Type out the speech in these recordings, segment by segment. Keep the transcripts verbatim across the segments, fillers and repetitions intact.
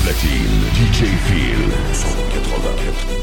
platine, D J Phil, cent quatre-vingt-quatre.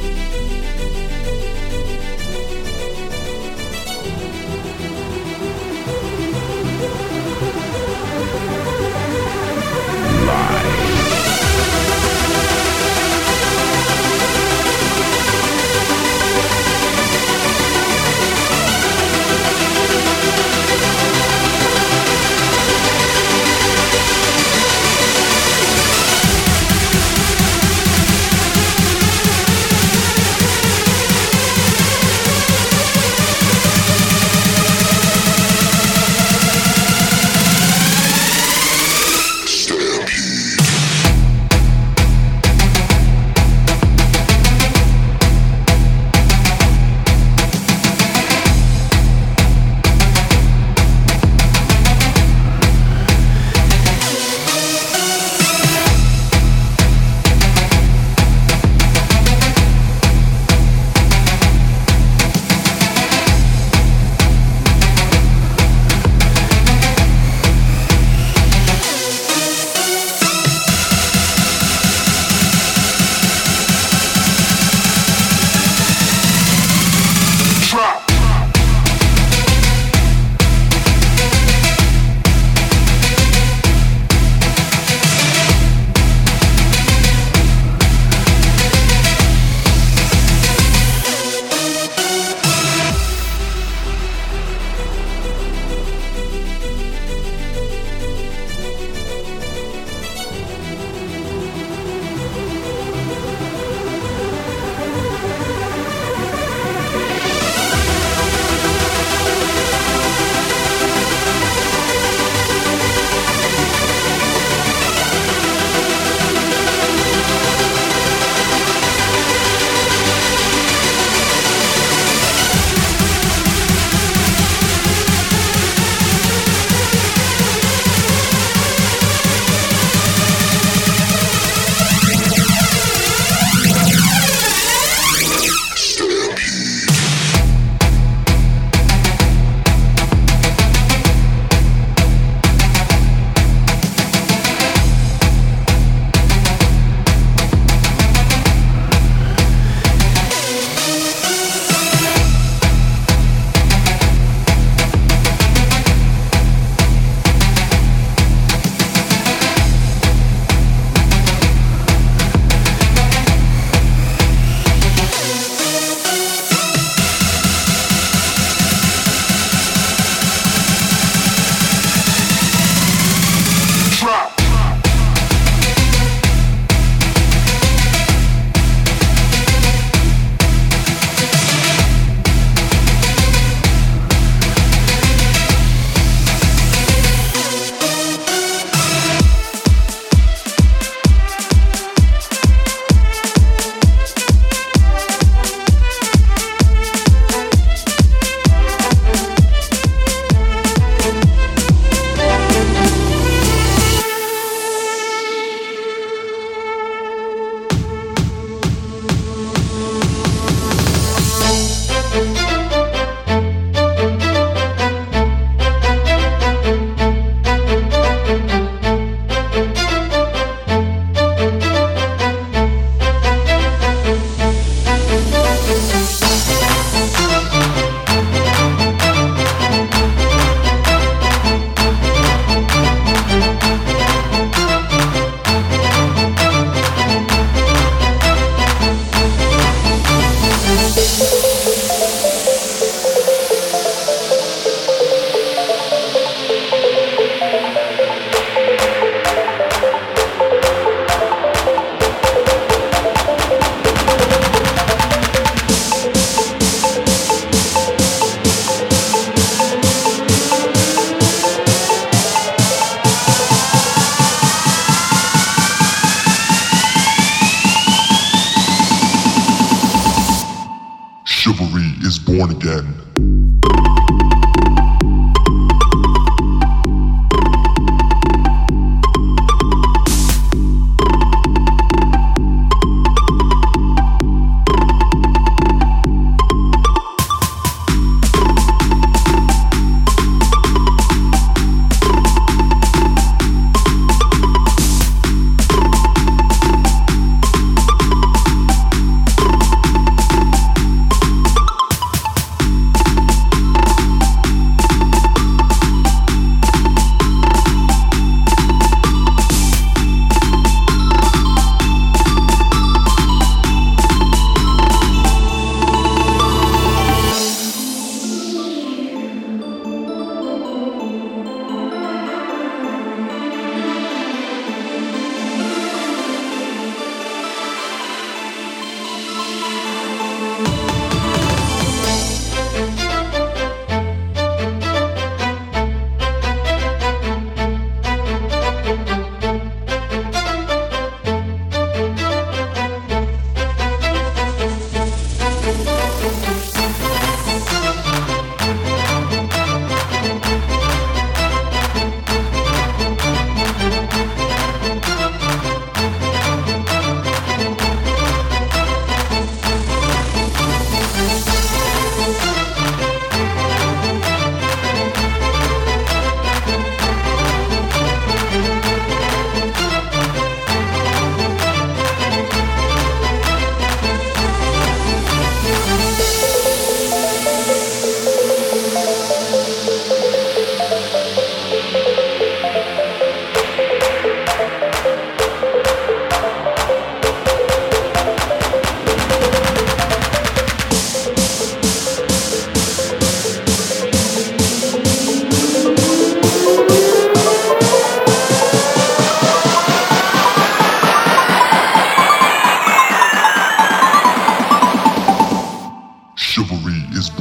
Chivalry is born again.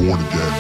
born again.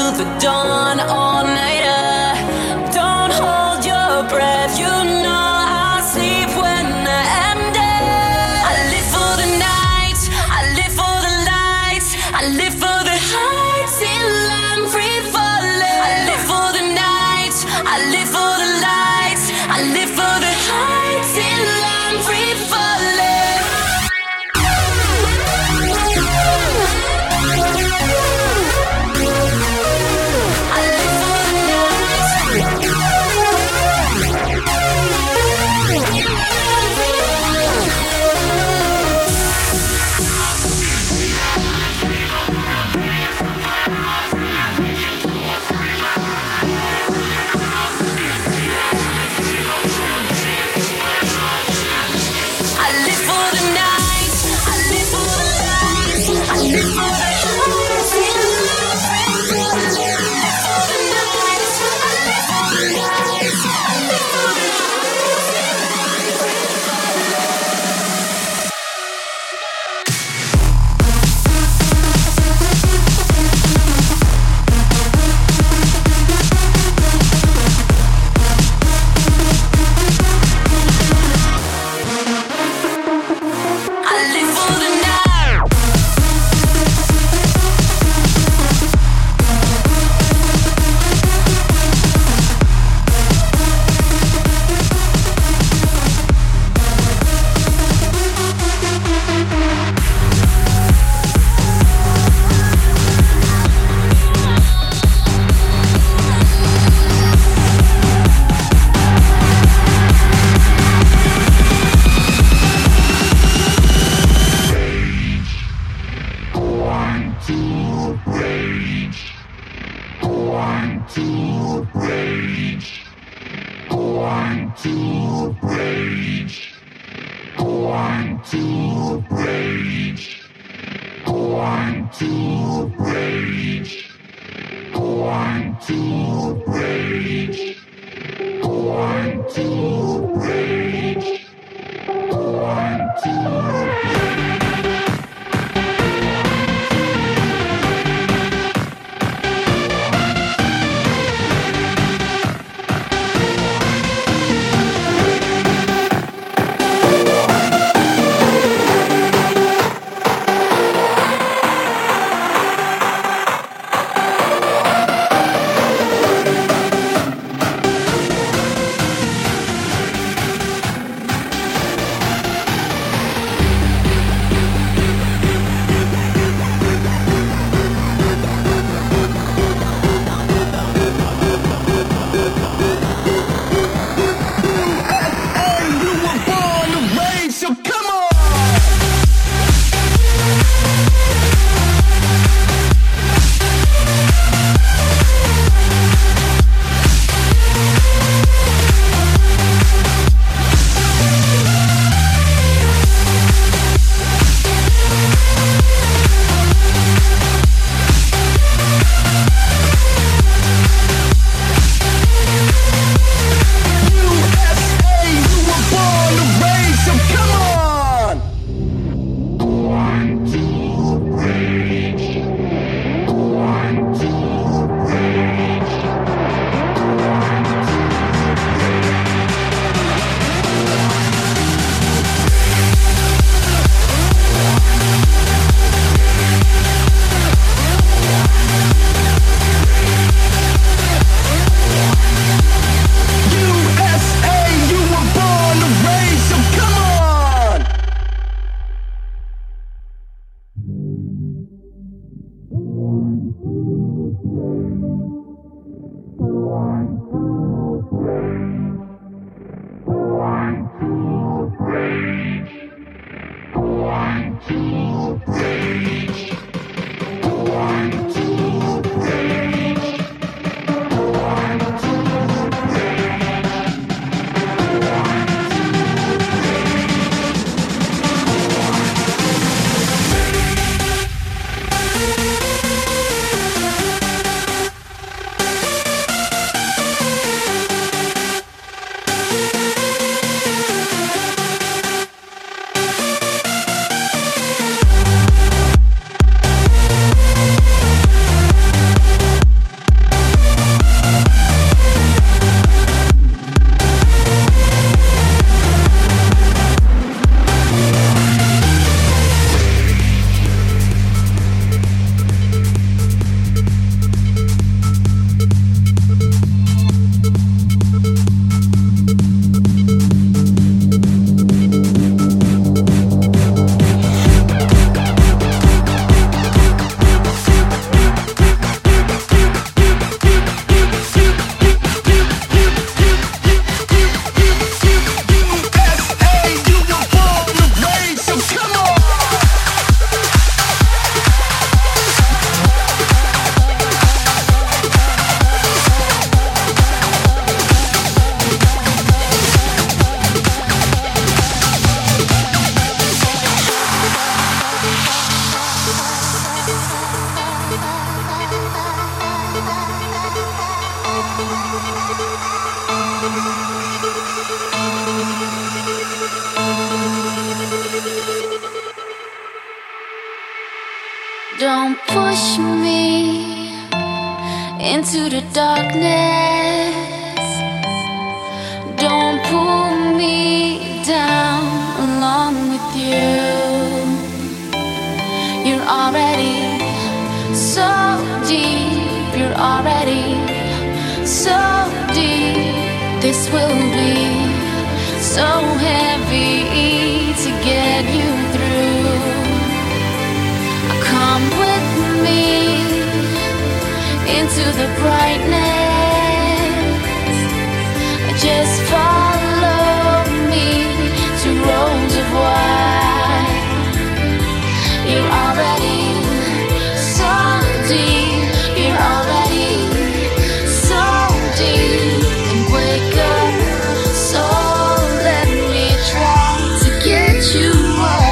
the dawn, all nighter. Don't hold your breath, you know I'll sleep when I am dead. I live for the night, I live for the lights, I live for the heights till I'm free falling. I live for the night, I live for the lights, I live for the heights till I'm free falling. I live for the night. I live for the night, I live for the lights, I live for the heights till I'm free falling. I live for the night, I live for the lights, I live for the heights till I'm free falling. I live for the night. Don't push me into the darkness. Don't pull me down along with you. You're already so deep. You're already so deep. This will be so heavy to get you through. Come with me into the brightness. Just follow me to roads of white. You're already so deep. You're already so deep. And wake up, so let me try to get you up.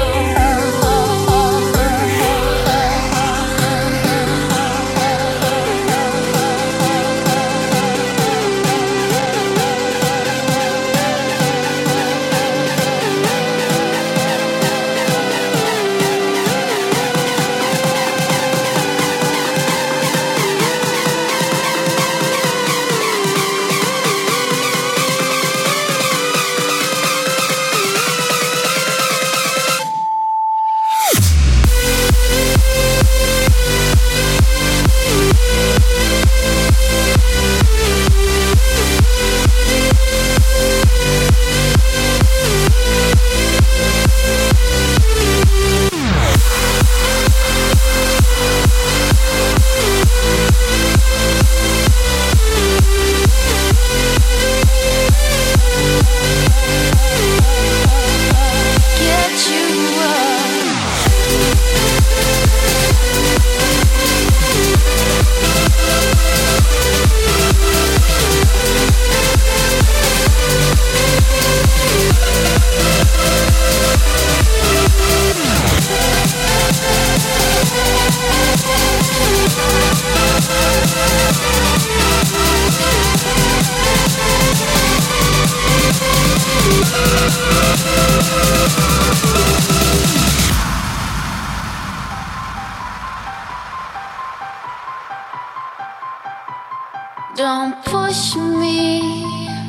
Don't push me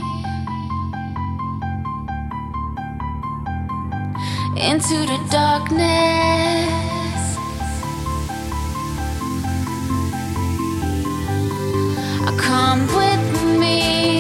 into the darkness. Come with me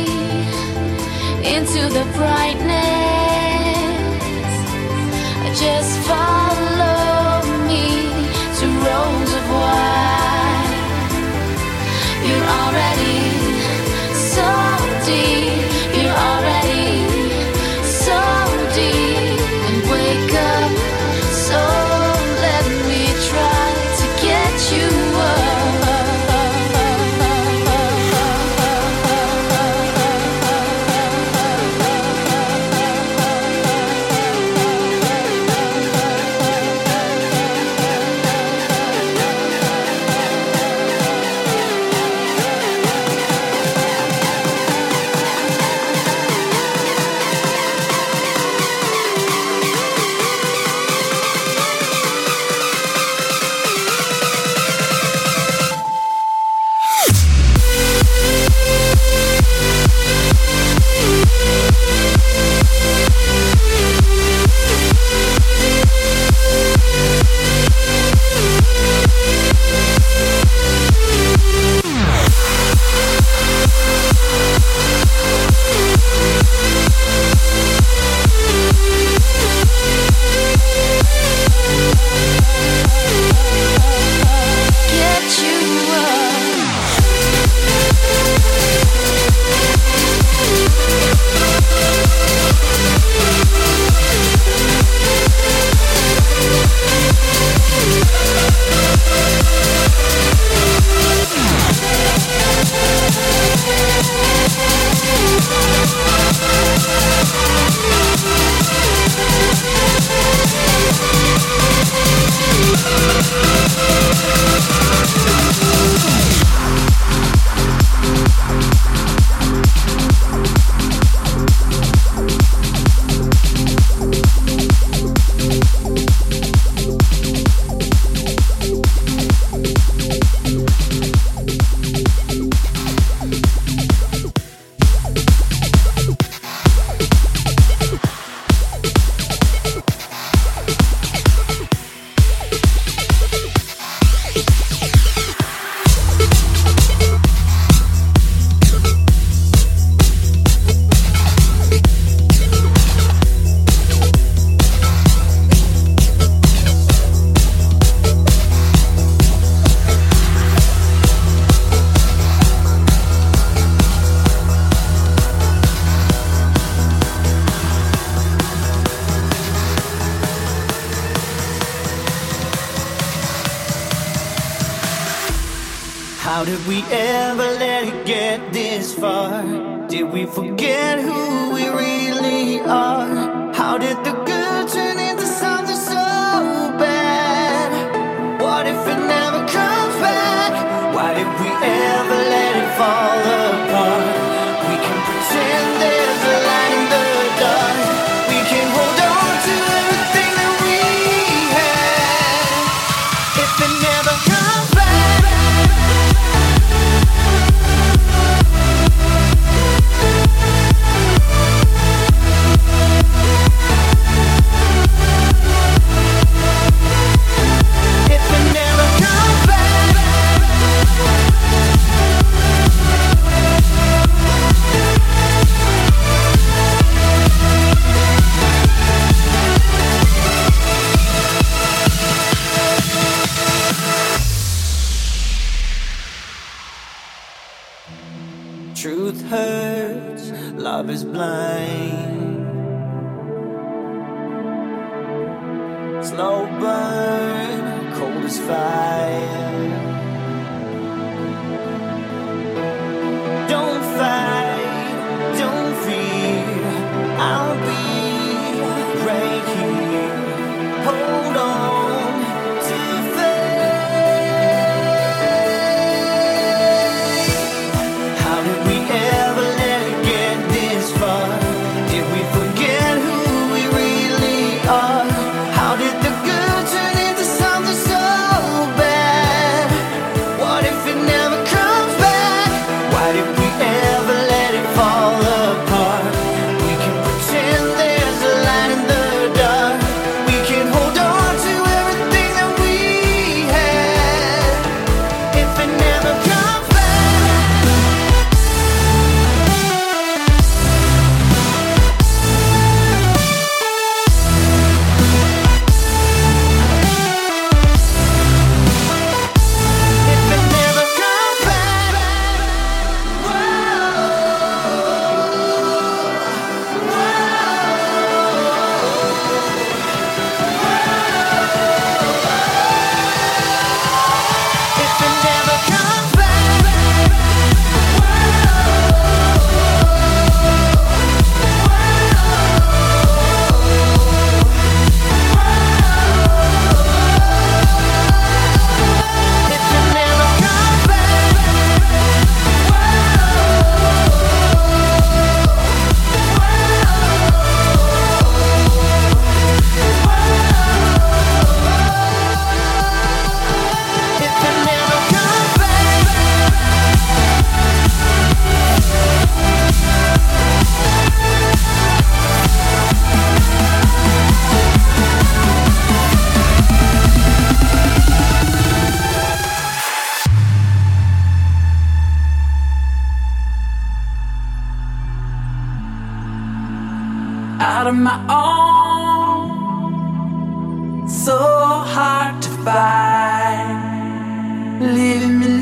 into the brightness. Just follow me to roads of white. You're already so deep. You're already so deep. And wake up, so let me try to get you up. did we ever let it get this far? Did we forget who we really are? How did the good turn into something so bad? What if it never comes back? Why did we ever let it fall apart? We can pretend there's a light in the dark. We can hold on to everything that we had. If it never comes back, if it never comes back, truth hurts, love is blind. Slow burn, cold as fire. Don't fight, don't fear, I'll be right here. Hold on to faith. How did we ever let it get this far? Did we forget who we really are? How did the good turn into something so bad? What if it never comes back? Why did we ever let it fall apart? We can pretend there's a light in the dark. We can hold on to everything that we had. If it never comes back, if it never comes back, if it never comes back, if it never comes back, if it never comes back. Out of my own, so hard to find, leaving me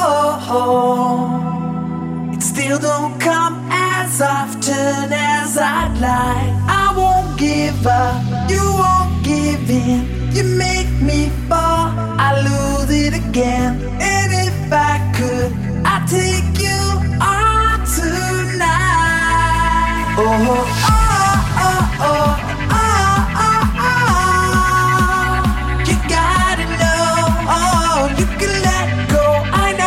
alone. It still don't come as often as I'd like. I won't give up, you won't give in. You make me fall, I lose it again. And if I could, I'd take you on tonight. Oh, oh, oh, oh, oh, oh, oh. You gotta know, oh, you can let go. I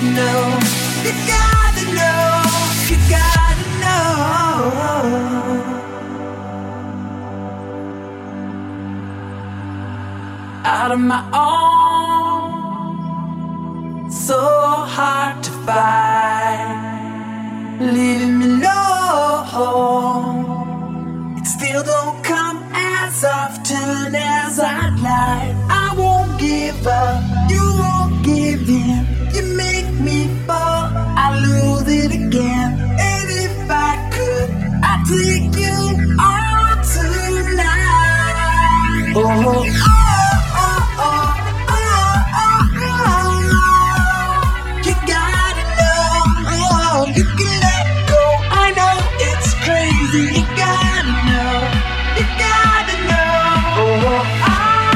know, you gotta know, you gotta know. Out of my own, so hard to find, leaving me alone. It still don't come as often as I'd like. I won't give up, you won't give in. You make me fall, I lose it again. And if I could, I'd take you all tonight. Oh, oh, oh, oh, oh, oh, oh. You gotta know, oh, you can let go. I know it's crazy, you gotta know, you gotta know. Oh, oh, oh.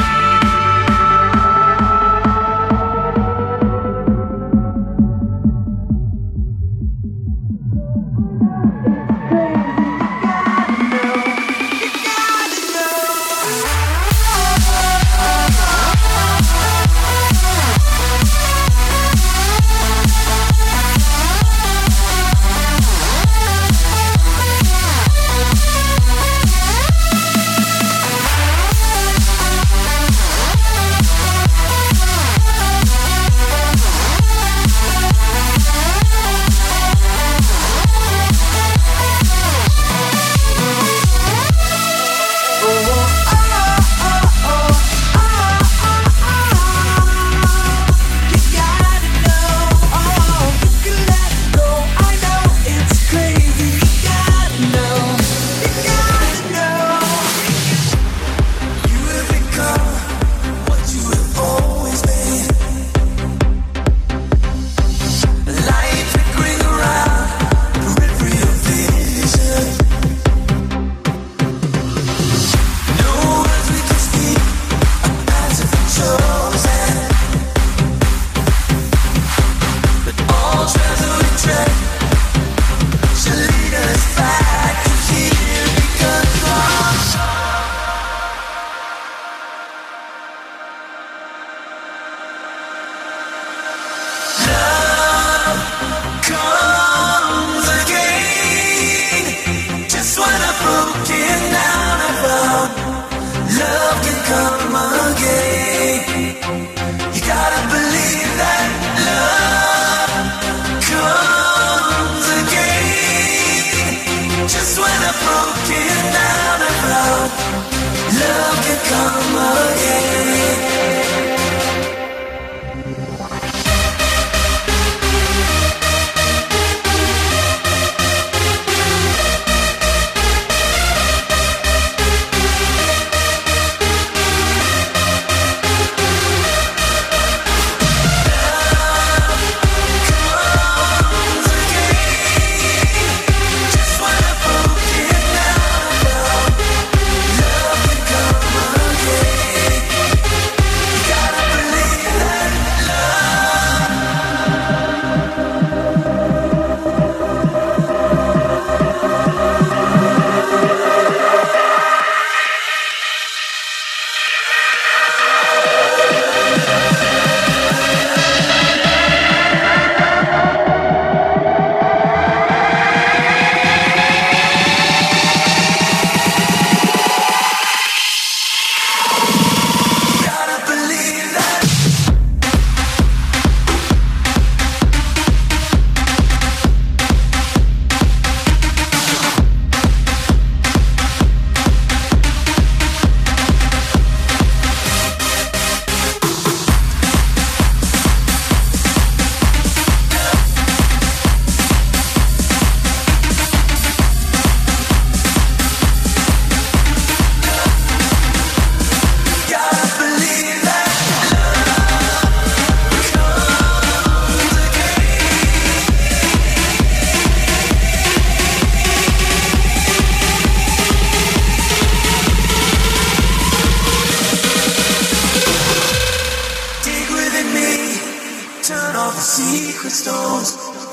secret stones.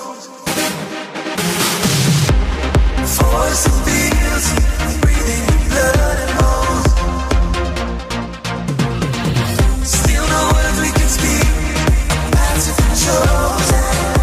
Force and feels, breathing in blood and bones. Still no words we can speak, a path to chosen.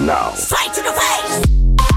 now. Straight to the face!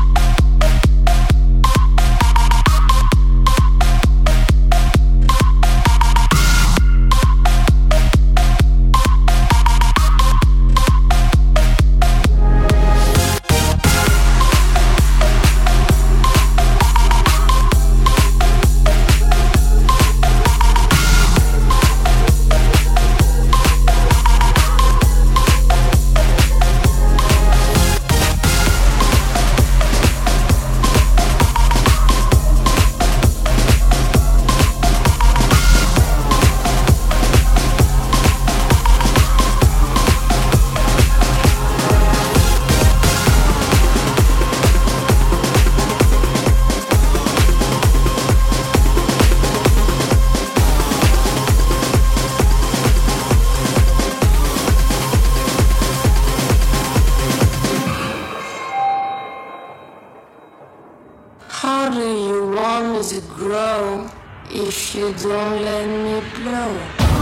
How do you want me to grow if you don't let me blow?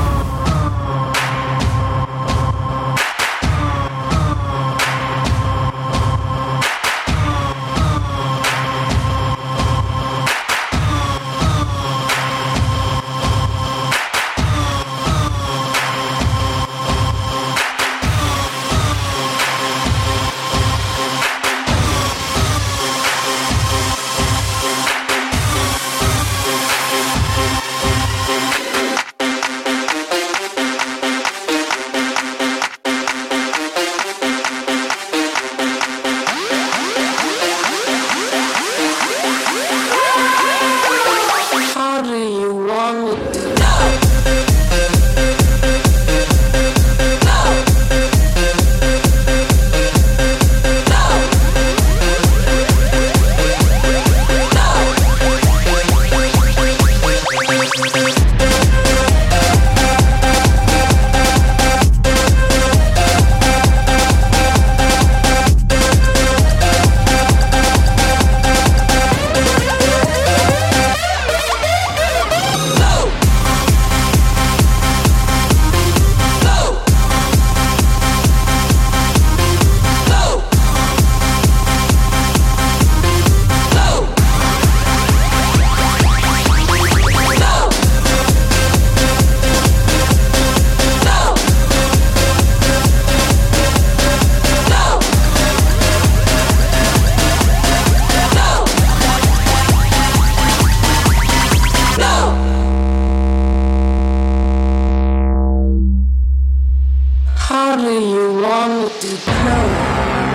How do you want me to grow?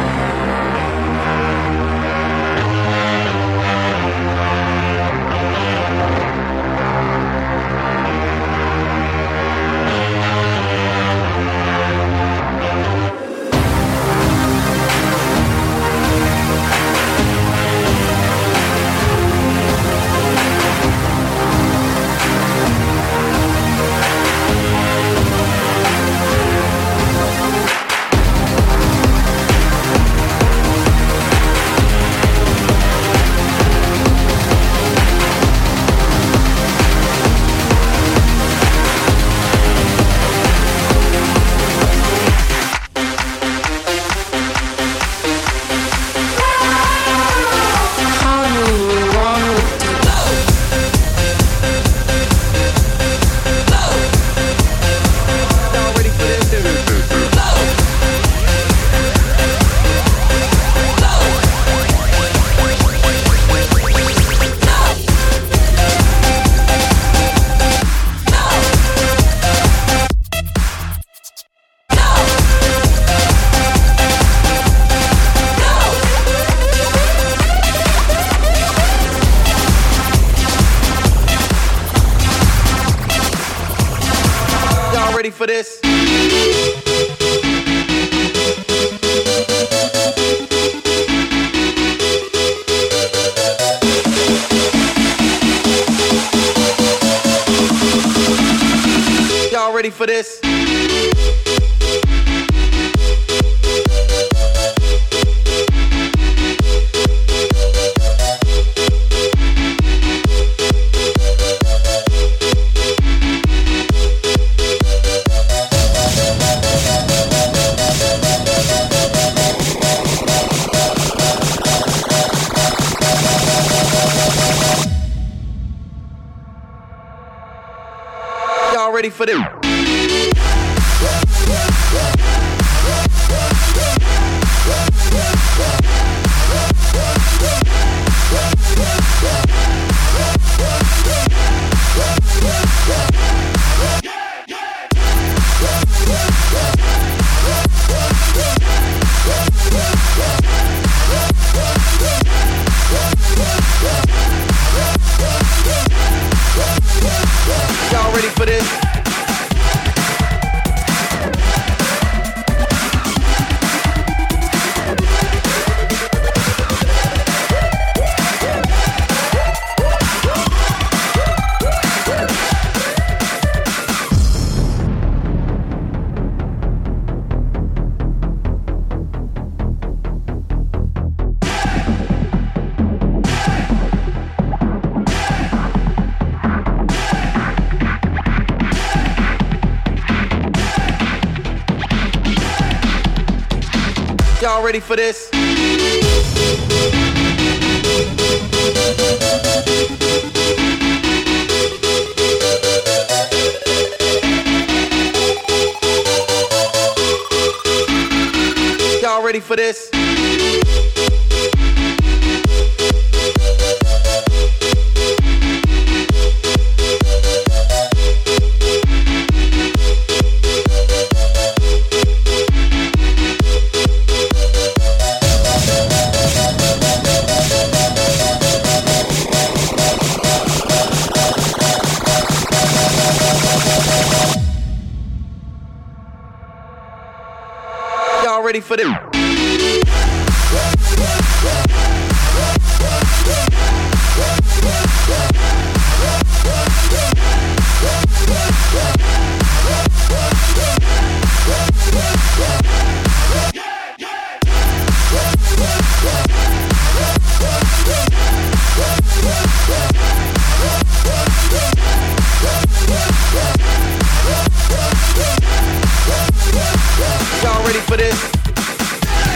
Ready for this? Y'all ready for this? ready for this? Y'all ready for this? Y'all ready for this? Y'all ready for this? Y'all ready for this? Y'all ready for this?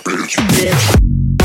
bitch, bitch.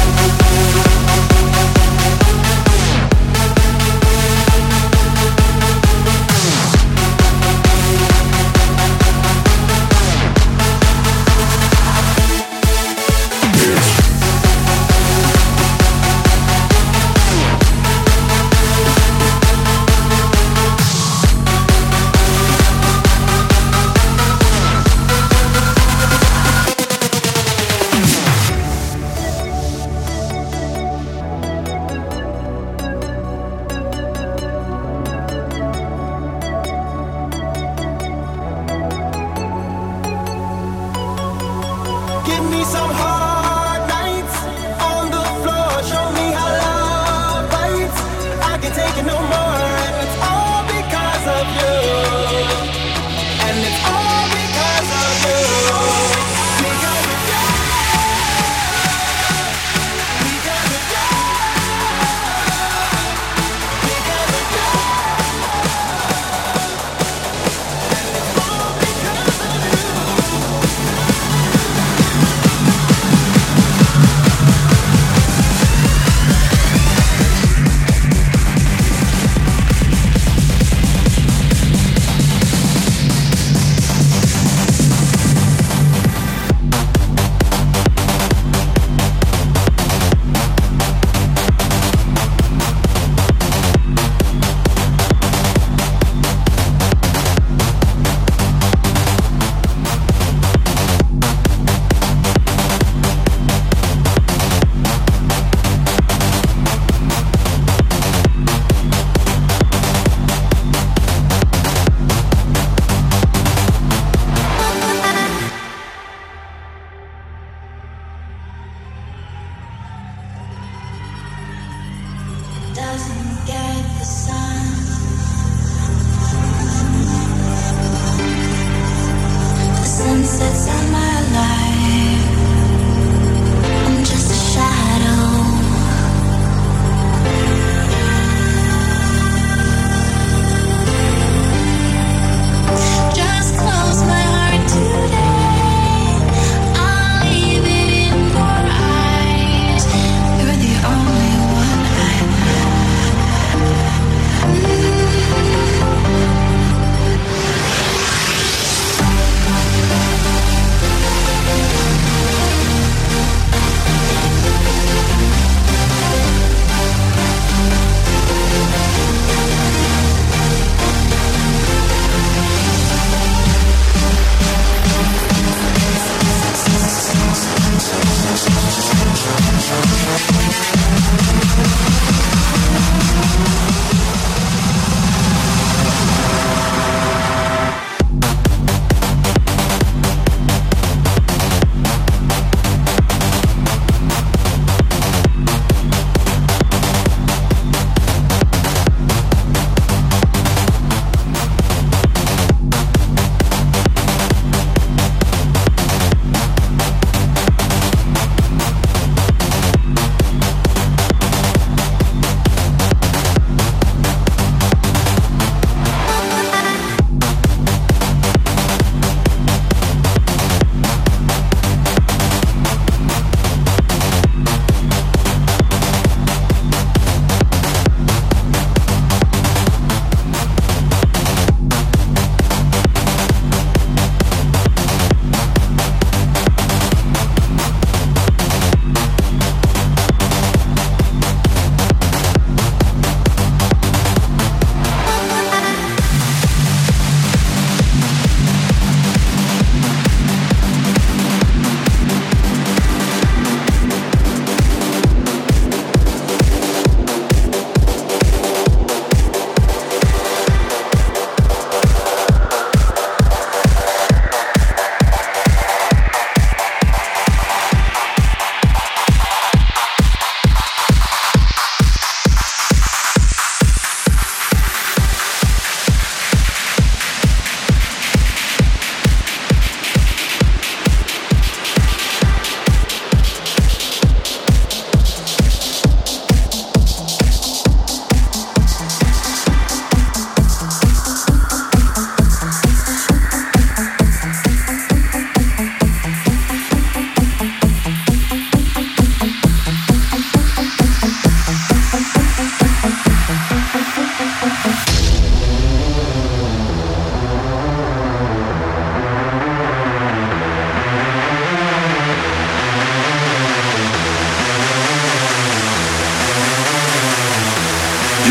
Give me some hard nights on the floor. Show me how love bites. I can't take it no more, and it's all because of you. And it's all because of you. Because of you. Because of you. Because of you. And it's all because of you. Doesn't get the sun. The sun sets on my life. I'm just a shadow. Just close my heart today. I'll leave it in your eyes. You're the only one I have.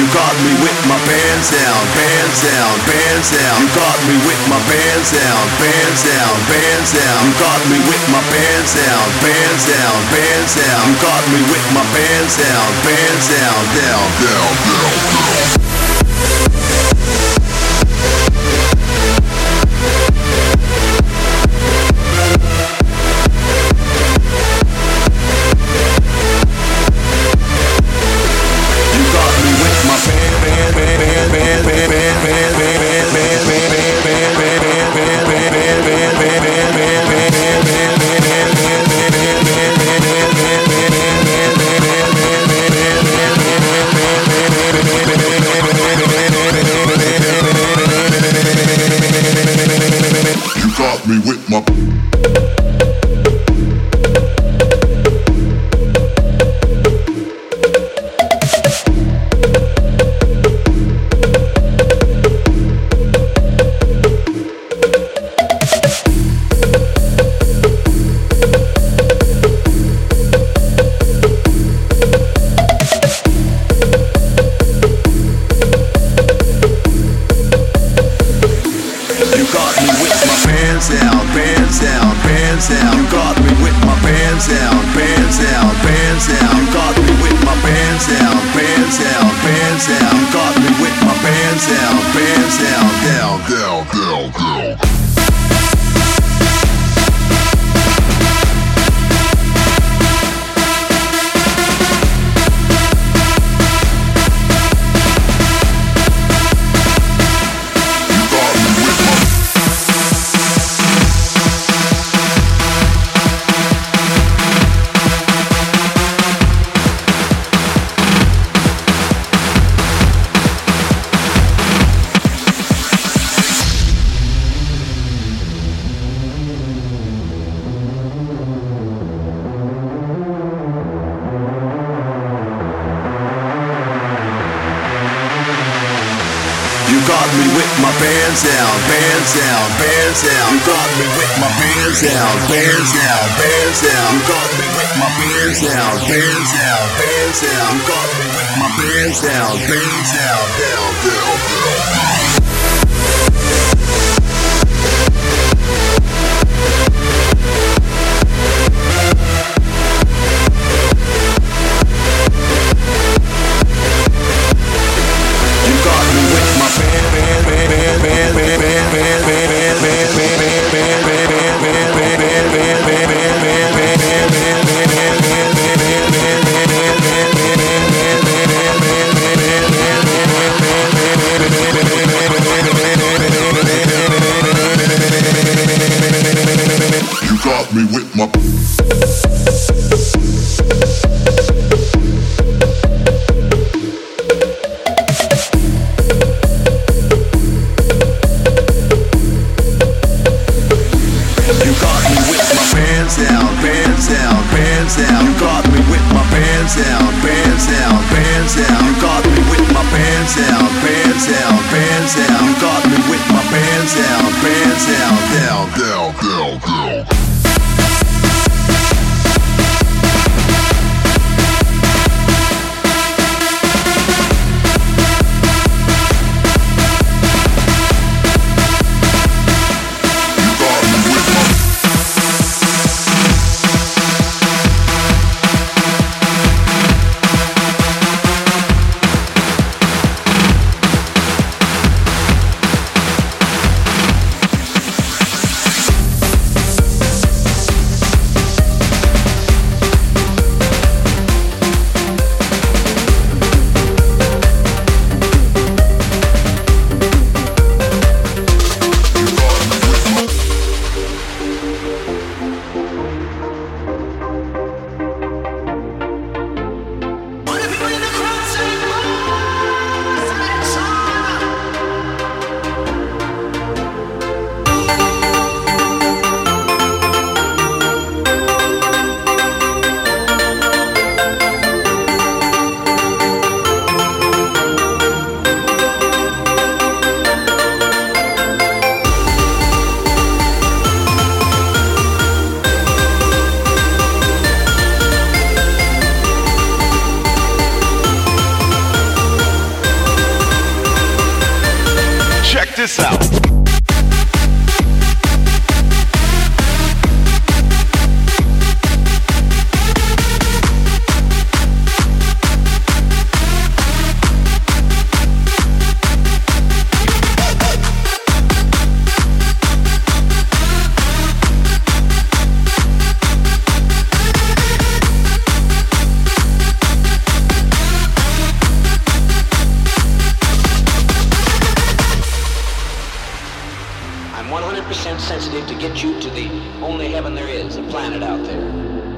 You got me with my pants down, pants down, pants down. You got me with my pants down, pants down, pants down. You got me with my pants down, pants down, pants down. You got me with my pants down, pants down, down, down, down, down. Me with my down, bands down, bands down. You got me with my bands down, bands down, bands down. You got me with my bands down, bands down, bands down. You got me with my bands down, bands down, down, down, down. Baby, this out. Sensitive to get you to the only heaven there is, a planet out there.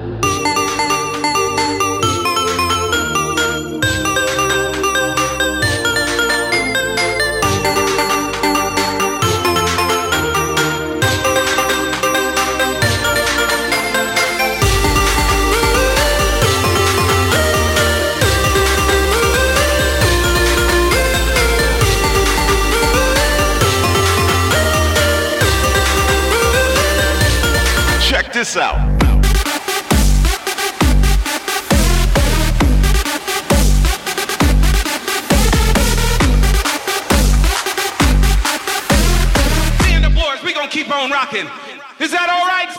Check this out. Seeing the boards, we gonna keep on rocking. Is that all right?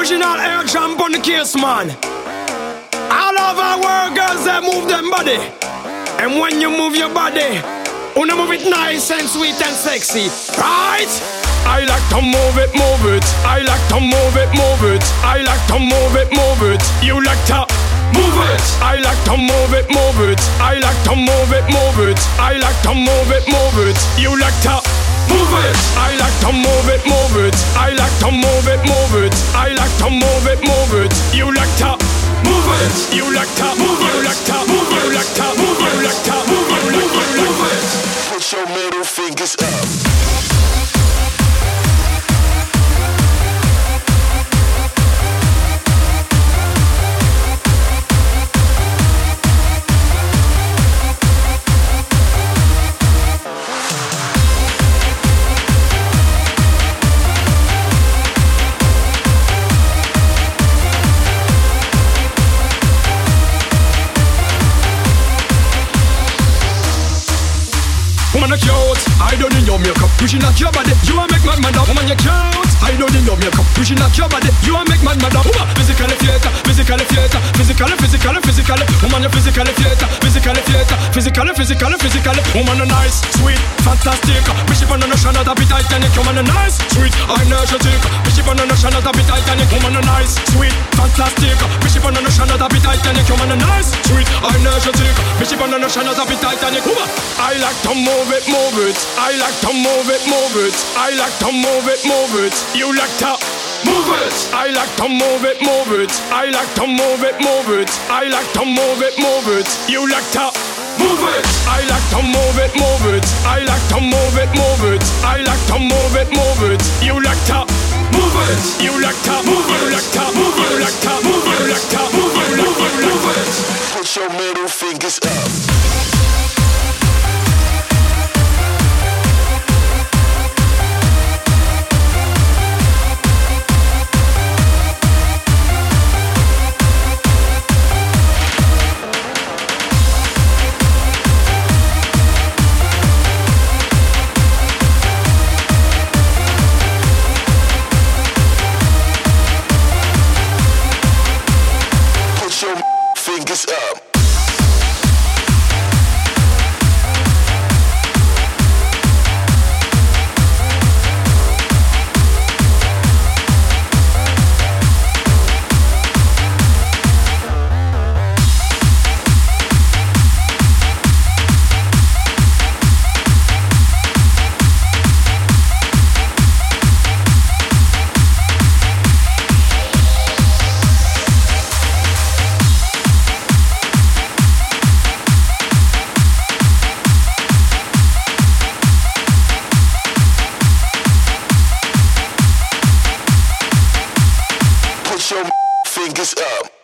Original air jump on the case, man. All of our world girls, they move them body. And when you move your body, wanna move it nice and sweet and sexy, right? I like to move it, move it. I like to move it, move it. I like to move it, move it. You like to move it. I like to move it, move it. I like to move it, move it. I like to move it, move it. You like to move it. I like to move it, move it. I like to move it, move it. I like to move it, move it. You like to move it. You like to move it. You like to move it. You like to move it. You like to move it. You like to move it. Put your middle fingers up. Cute, I don't need your makeup, pushing out your body. You are make mad mad up, woman. You're cute. I don't need your makeup, pushing out your body. You are make mad mad up, woman. Physically theater, physically theater, physically, physically, physically. Woman, you're physically theater, physically theater, physically, physically, physically. Woman, you're nice, sweet, fantastic. Bishop on the ocean, that be Titanic. Woman, you're nice, sweet, energetic. Bishop on the ocean, that be Titanic. Woman, you're nice, sweet, fantastic. Bishop on the ocean, that be Titanic. Woman, you're nice, sweet, energetic. Bishop on the ocean, that be Titanic. Woman, I like to move it, move it. I like to move it, move it. I like to move it, move it. You like to move it. I like to move it, move it. I like to move it, move it. I like to move it, move it. You like to move it. I like to move it, move it. I like to move it, move it. I like to move it, move it. You like to move it. You like to move it. You like to move it. You like to move it. You like to move it. You like to move it. Put your middle fingers up. Fingers up. Put your fingers up.